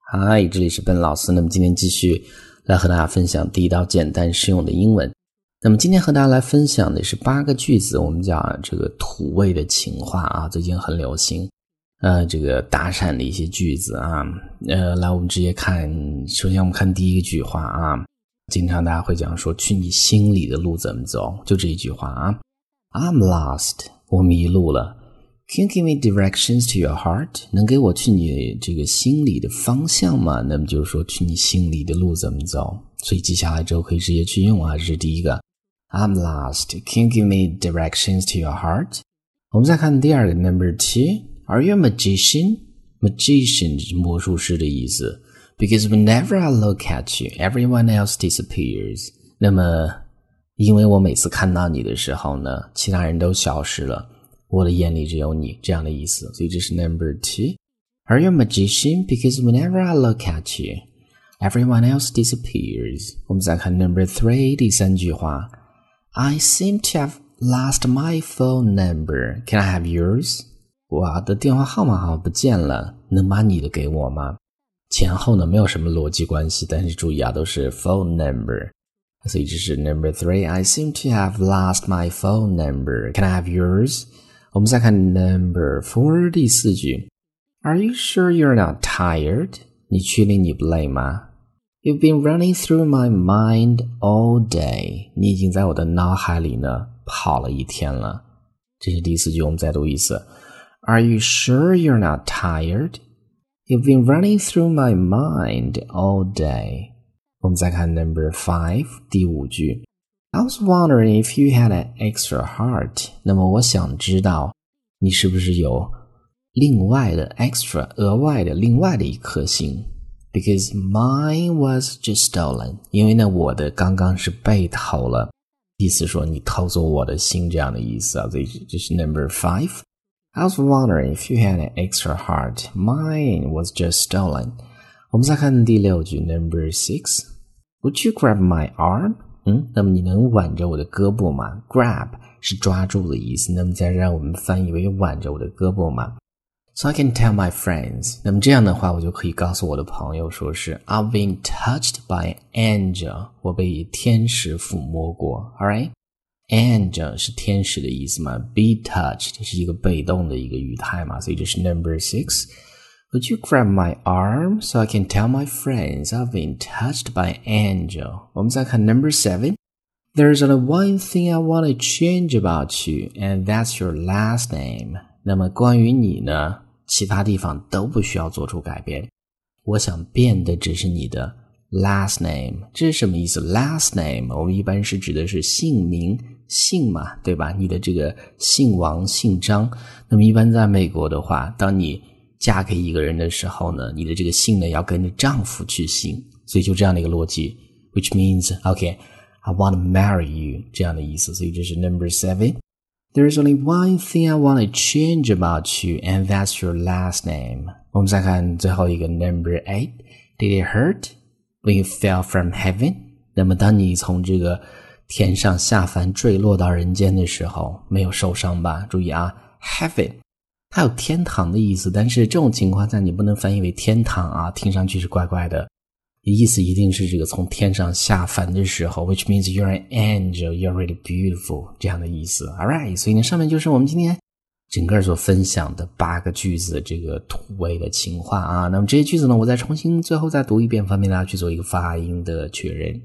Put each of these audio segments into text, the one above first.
嗨，这里是笨老师。那么今天继续来和大家分享第一道简单实用的英文。那么今天和大家来分享的是8个句子，我们讲这个土味的情话啊，最近很流行。这个搭讪的一些句子啊，来我们直接看，首先我们看第一个句话啊，经常大家会讲说去你心里的路怎么走，就这一句话啊 I'm lost， 我迷路了。Can you give me directions to your heart？ 能给我去你这个心里的方向吗？那么就是说去你心里的路怎么走，所以记下来之后可以直接去用啊，这是第一个 I'm lost. Can you give me directions to your heart？ 我们再看第二个 Number 2 Are you a magician? Magician 是魔术师的意思 Because whenever I look at you, everyone else disappears. 那么因为我每次看到你的时候呢，其他人都消失了，我的眼里只有你，这样的意思。所以这是 Number 2 Are you a magician? Because whenever I look at you, everyone else disappears. 我们再看 Number 3 第三句话 I seem to have lost my phone number. Can I have yours? 我的电话号码好像不见了，能把你的给我吗？前后呢没有什么逻辑关系，但是注意啊，都是 phone number。所以这是 Number 3 I seem to have lost my phone number. Can I have yours? 我们再看 Number 4第四句 Are you sure you're not tired? 你确定你不累吗？ You've been running through my mind all day. 你已经在我的脑海里呢跑了一天了。这是第四句，我们再读一次 Are you sure you're not tired? You've been running through my mind all day. 我们再看 Number 5第五句I was wondering if you had an extra heart. 那么我想知道你是不是有另外的 extra 额外的另外的一颗心 Because mine was just stolen. 因为呢我的刚刚是被偷了，意思说你偷走我的心这样的意思啊。所以这是 Number 5 I was wondering if you had an extra heart. Mine was just stolen. 我们再看第六句 Number 6 Would you grab my arm?那么你能挽着我的胳膊吗？ Grab 是抓住的意思，那么再让我们翻译为挽着我的胳膊吗？ So I can tell my friends. 那么这样的话我就可以告诉我的朋友说是 I've been touched by an angel. 我被天使抚摸过 Alright? Angel 是天使的意思嘛， Be touched 是一个被动的一个语态嘛，所以这是 Number 6 Would you grab my arm so I can tell my friends I've been touched by an angel? 我们再看 Number 7 There's only one thing I want to change about you, and that's your last name. 那么关于你呢，其他地方都不需要做出改变，我想变的只是你的 last name. 这是什么意思？ Last name 我们一般是指的是姓名姓嘛，对吧？你的这个姓王姓张，那么一般在美国的话，当你嫁给一个人的时候呢，你的这个姓呢要跟着丈夫去姓，所以就这样的一个逻辑 which means okay I want to marry you 这样的意思，所以这是 Number 7 There's only one thing I want to change about you, and that's your last name. 我们再看最后一个 Number 8 Did it hurt when you fell from heaven? 那么当你从这个天上下凡坠落到人间的时候，没有受伤吧？注意啊 Heaven它有天堂的意思，但是这种情况下你不能翻译为天堂啊，听上去是怪怪的，意思一定是这个从天上下凡的时候 which means you're an angel, you're really beautiful 这样的意思 Alright, 所以呢上面就是我们今天整个所分享的8个句子的这个土味的情话啊。那么这些句子呢我再重新最后再读一遍，方便大家去做一个发音的确认。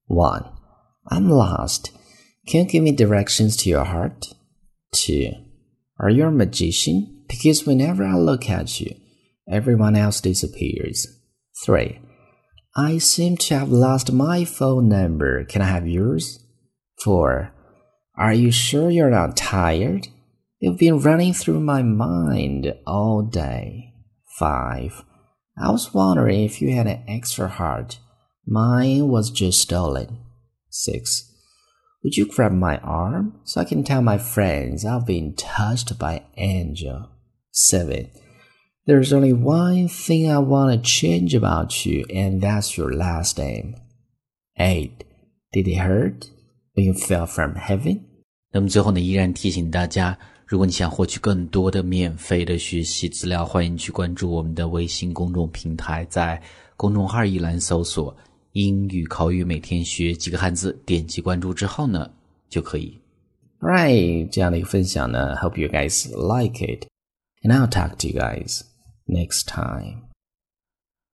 1 I'm lost. Can you give me directions to your heart? 2 Are you a magician? Because whenever I look at you, everyone else disappears. 3 I seem to have lost my phone number. Can I have yours? 4 Are you sure you're not tired? You've been running through my mind all day. 5 I was wondering if you had an extra heart. Mine was just stolen. 6 Would you grab my arm so I can tell my friends I've been touched by an angel? 7 There's only one thing I want to change about you, and that's your last name. 8 Did it hurt when you fell from heaven? 那么最后呢，依然提醒大家， 如果你想获取更多的免费的学习资料，欢迎去关注我们的微信公众平台，在公众号一栏搜索英语口语每天学几个汉字，点击关注之后呢就可以。 Right， 这样的一个分享呢 hope you guys like it and I'll talk to you guys next time.